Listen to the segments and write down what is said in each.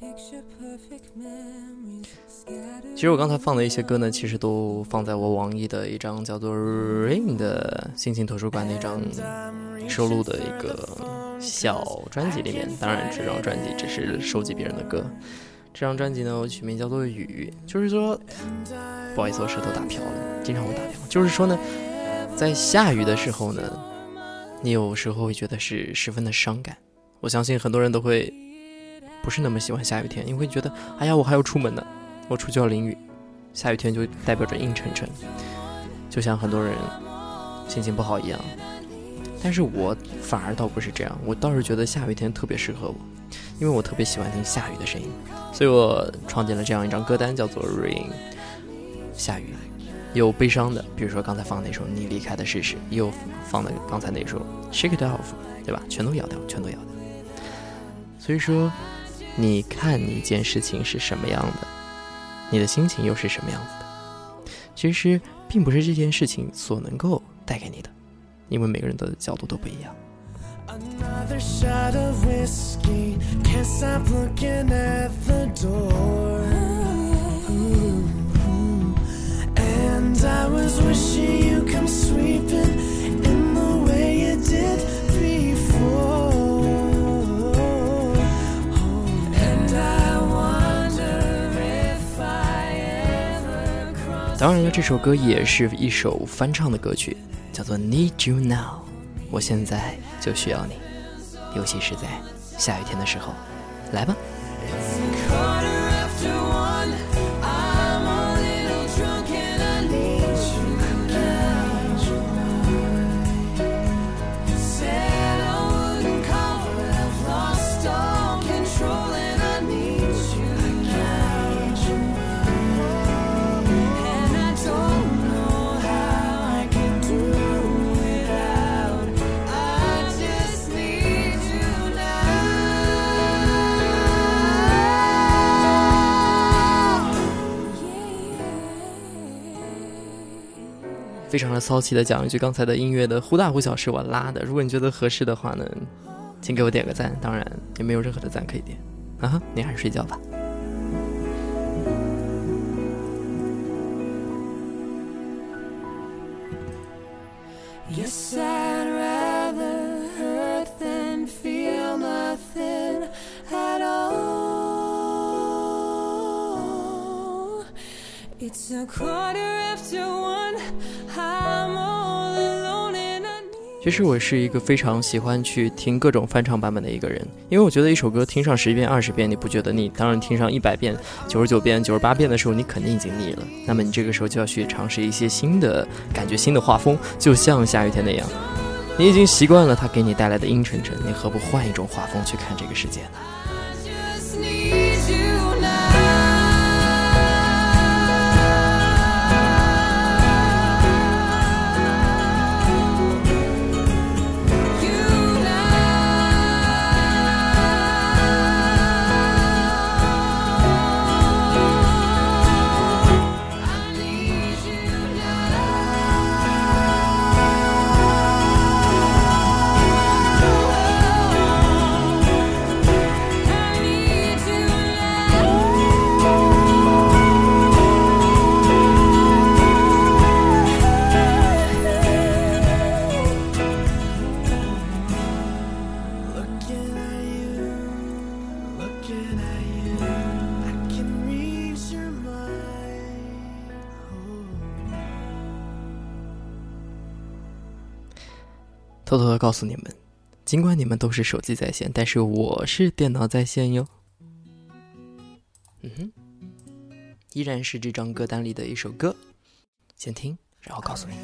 其实我刚才放的一些歌呢，其实都放在我网易的一张叫做 Rain 的心情图书馆那张收录的一个小专辑里面。当然这张专辑只是收集别人的歌，这张专辑呢我取名叫做雨。就是说不好意思，我舌头打飘了，经常会打飘。就是说呢，在下雨的时候呢，你有时候会觉得是十分的伤感。我相信很多人都会不是那么喜欢下雨天，因为觉得哎呀我还要出门呢，我出去要淋雨。下雨天就代表着阴沉沉，就像很多人心情不好一样。但是我反而倒不是这样，我倒是觉得下雨天特别适合我，因为我特别喜欢听下雨的声音，所以我创建了这样一张歌单，叫做 Rain 下雨。有悲伤的，比如说刚才放那首你离开的事实，也有放的刚才那首 Shake It Off， 对吧？全都要掉，全都要掉。所以说你看一件事情是什么样的，你的心情又是什么样子的，其实并不是这件事情所能够带给你的，因为每个人的角度都不一样。Another shot of whiskey, can't stop looking at the door. And I was wishing you come sweeping in the way you did before. And I wonder if I ever crossed. 当然了，这首歌也是一首翻唱的歌曲，叫做 Need You Now。我现在就需要你，尤其是在下雨天的时候，来吧。非常的骚气的讲一句，刚才的音乐的忽大忽小是我拉的，如果你觉得合适的话呢，请给我点个赞，当然也没有任何的赞可以点啊，你还是睡觉吧。Yes, I'd rather hurt than feel nothing at all. It's a quarter after one.其实我是一个非常喜欢去听各种翻唱版本的一个人，因为我觉得一首歌听上10遍20遍你不觉得腻，当然听上100遍99遍98遍的时候你肯定已经腻了，那么你这个时候就要去尝试一些新的感觉，新的画风，就像下雨天那样，你已经习惯了它给你带来的阴沉沉，你何不换一种画风去看这个世界呢？偷偷的告诉你们，尽管你们都是手机在线，但是我是电脑在线哟。依然是这张歌单里的一首歌，先听，然后告诉你。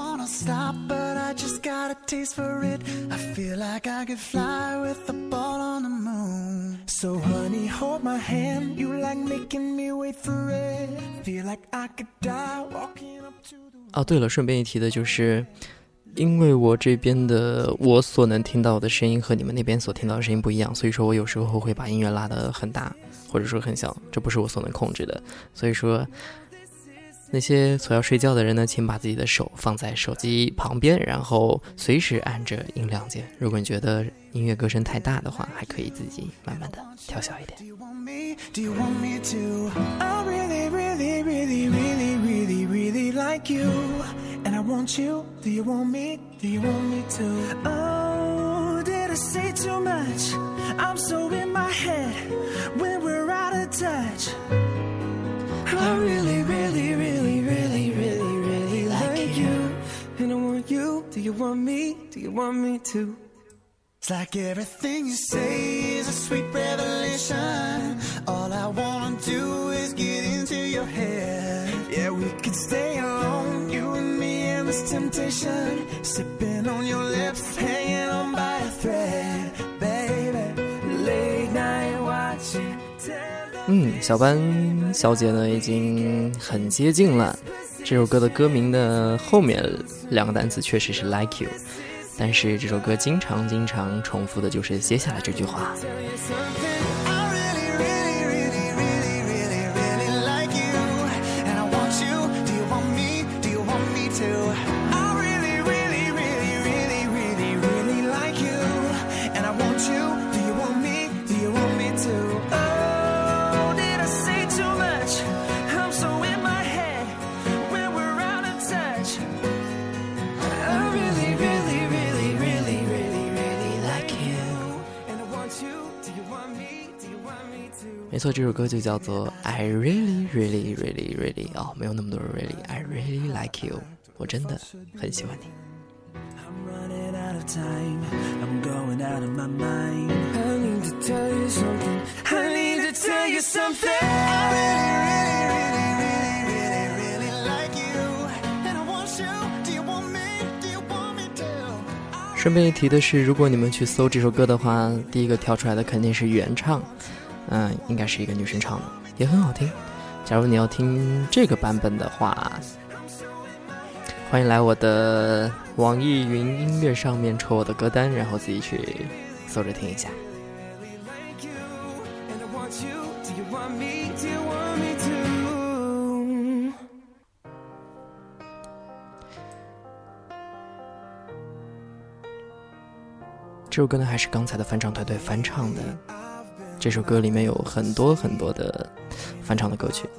哦，对了，顺便一提的就是，因为我这边的我所能听到的声音和你们那边所听到的声音不一样，所以说我有时候会把音乐拉得很大，或者说很小，这不是我所能控制的。所以说那些所要睡觉的人呢，请把自己的手放在手机旁边，然后随时按着音量键。如果你觉得音乐歌声太大的话，还可以自己慢慢的调小一点。 Like you, and I want you. Do you want me? Do you want me to? Oh, did I say too much? I'm so in my head when we're out of touch. I really, really, really, really, really, really like you, and I want you. Do you want me? Do you want me to? It's like everything you say is a sweet revelation. All I wanna do is get into your head. Yeah, we could stay alone, you and me and this temptation. Sipping on your lips, hanging on by a thread. Baby, late night watching. 小班小姐呢已经很接近了。这首歌的歌名的后面2个单词确实是 like you， 但是这首歌经常重复的就是接下来这句话。没错，这首歌就叫做 I really really really really 没有那么多 really I really like you， 我真的很喜欢你。 I'm running out of time, I'm going out of my mind. I need to tell you something, I need to tell you something. I really, really, really, really, really like you, and I want you. Do you want me? Do you want me to? 顺便一提的是，如果你们去搜这首歌的话，第一个跳出来的肯定是原唱，应该是一个女生唱的，也很好听。假如你要听这个版本的话，欢迎来我的网易云音乐上面抽我的歌单，然后自己去搜着听一下。这首歌呢还是刚才的翻唱团队翻唱的，这首歌里面有很多很多的翻唱的歌曲，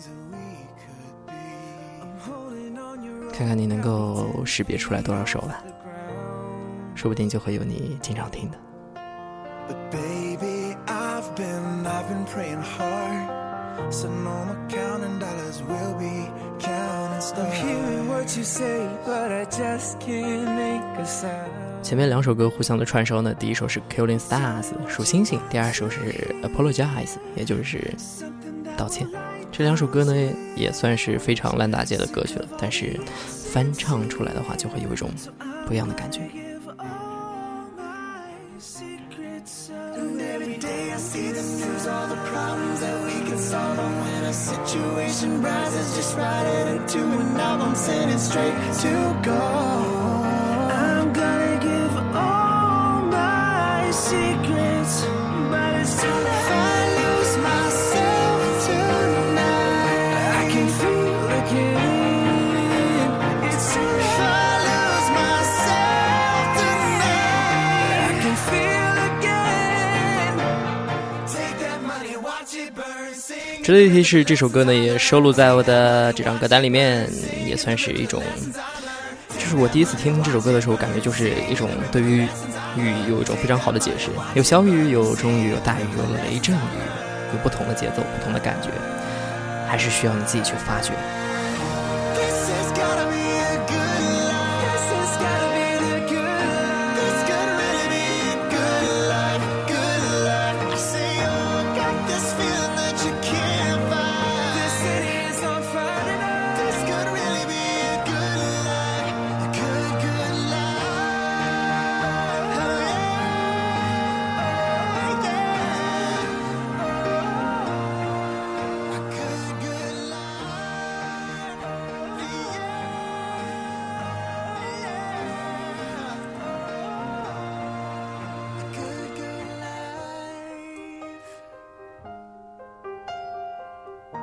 看看你能够识别出来多少首吧，说不定就会有你经常听的。 But baby, I've been praying hard. So no more counting dollars, we'll be counting stars. I'm hearing what you say, but I just can't make a sound. 前面2首歌互相的串烧呢，第一首是 Killing Stars 数星星，第2首是 Apologize 也就是道歉。这2首歌呢也算是非常烂大街的歌曲了，但是翻唱出来的话就会有一种不一样的感觉。 Secrets, but it's too late. If I lose myself tonight, I can feel again. It's too late. If I lose myself tonight, I can feel again. Take that money, watch it burn, sing. 值得一提是，这首歌呢也收录在我的这张歌单里面，也算是一种。就是我第一次听这首歌的时候，感觉就是一种对于雨有一种非常好的解释，有小雨，有中雨，有大雨，有雷阵雨，有不同的节奏，不同的感觉，还是需要你自己去发掘。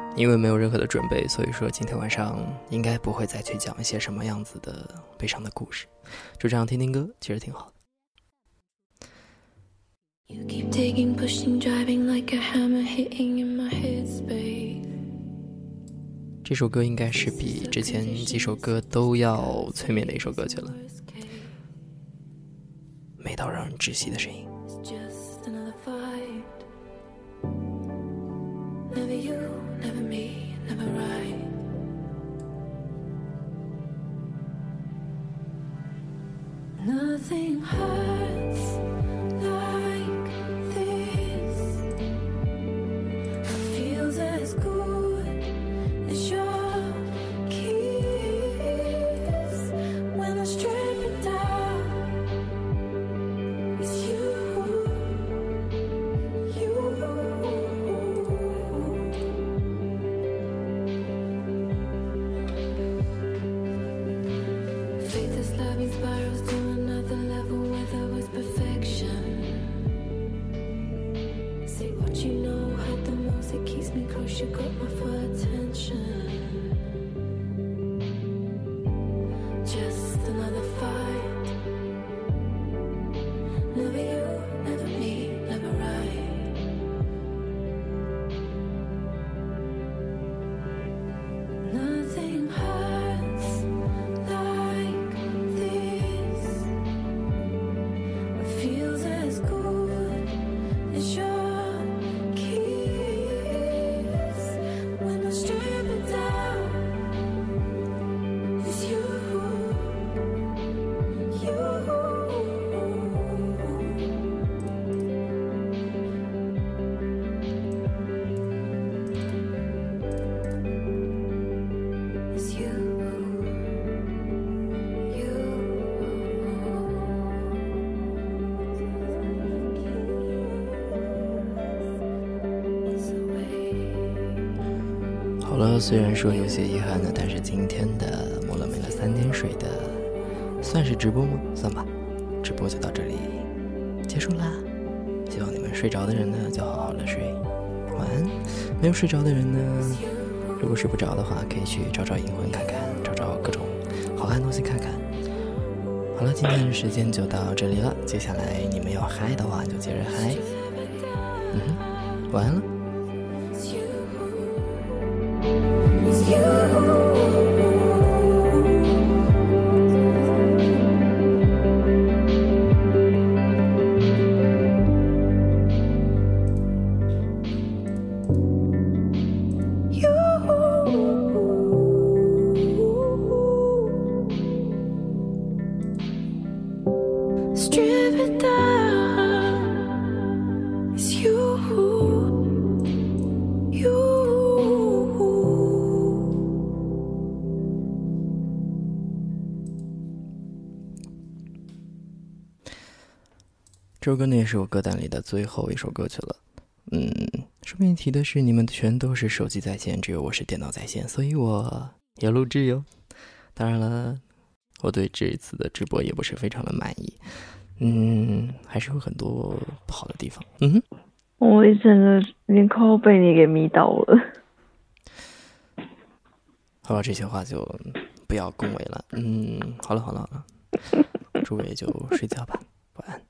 因为没有任何的准备，所以说今天晚上应该不会再去讲一些什么样子的悲伤的故事，就这样听听歌，其实挺好的。You keep taking, pushing, driving like a hammer hitting in my headspace. 这首歌应该是比之前几首歌都要催眠的一首歌曲了，美到让人窒息的声音。Never you, never me, never right. Nothing hurts like this. It feels as good as your kiss. When I strip it down, it's you. Spirals to another level where there was perfection. Say what you know, hurt the most, it keeps me close, you got my full attention. Just another fight. Never you, never me, never right. Nothing hurts like this. What feels as good as your kiss. When I strip it down, it's you, you. It's you, you. 好了，虽然说有些遗憾的，但是今天的摸了没了3天水的，算是直播吗？算吧，直播就到这里结束啦。希望你们睡着的人呢，就好好的睡，晚安。没有睡着的人呢，如果睡不着的话，可以去找找银魂看看，找找各种好看的东西看看。好了，今天的时间就到这里了，接下来你们要嗨的话就接着嗨。晚安了。Strip it down, it's you, you. 这首歌呢也是我歌单里的最后一首歌曲了。顺便提的是，你们全都是手机在线，只有我是电脑在线，所以我也录制哟。当然了，我对这一次的直播也不是非常的满意，还是有很多不好的地方。 我一整个连快要被你给迷倒了。 好了，这些话就不要恭维了。好了，诸位就睡觉吧，晚安。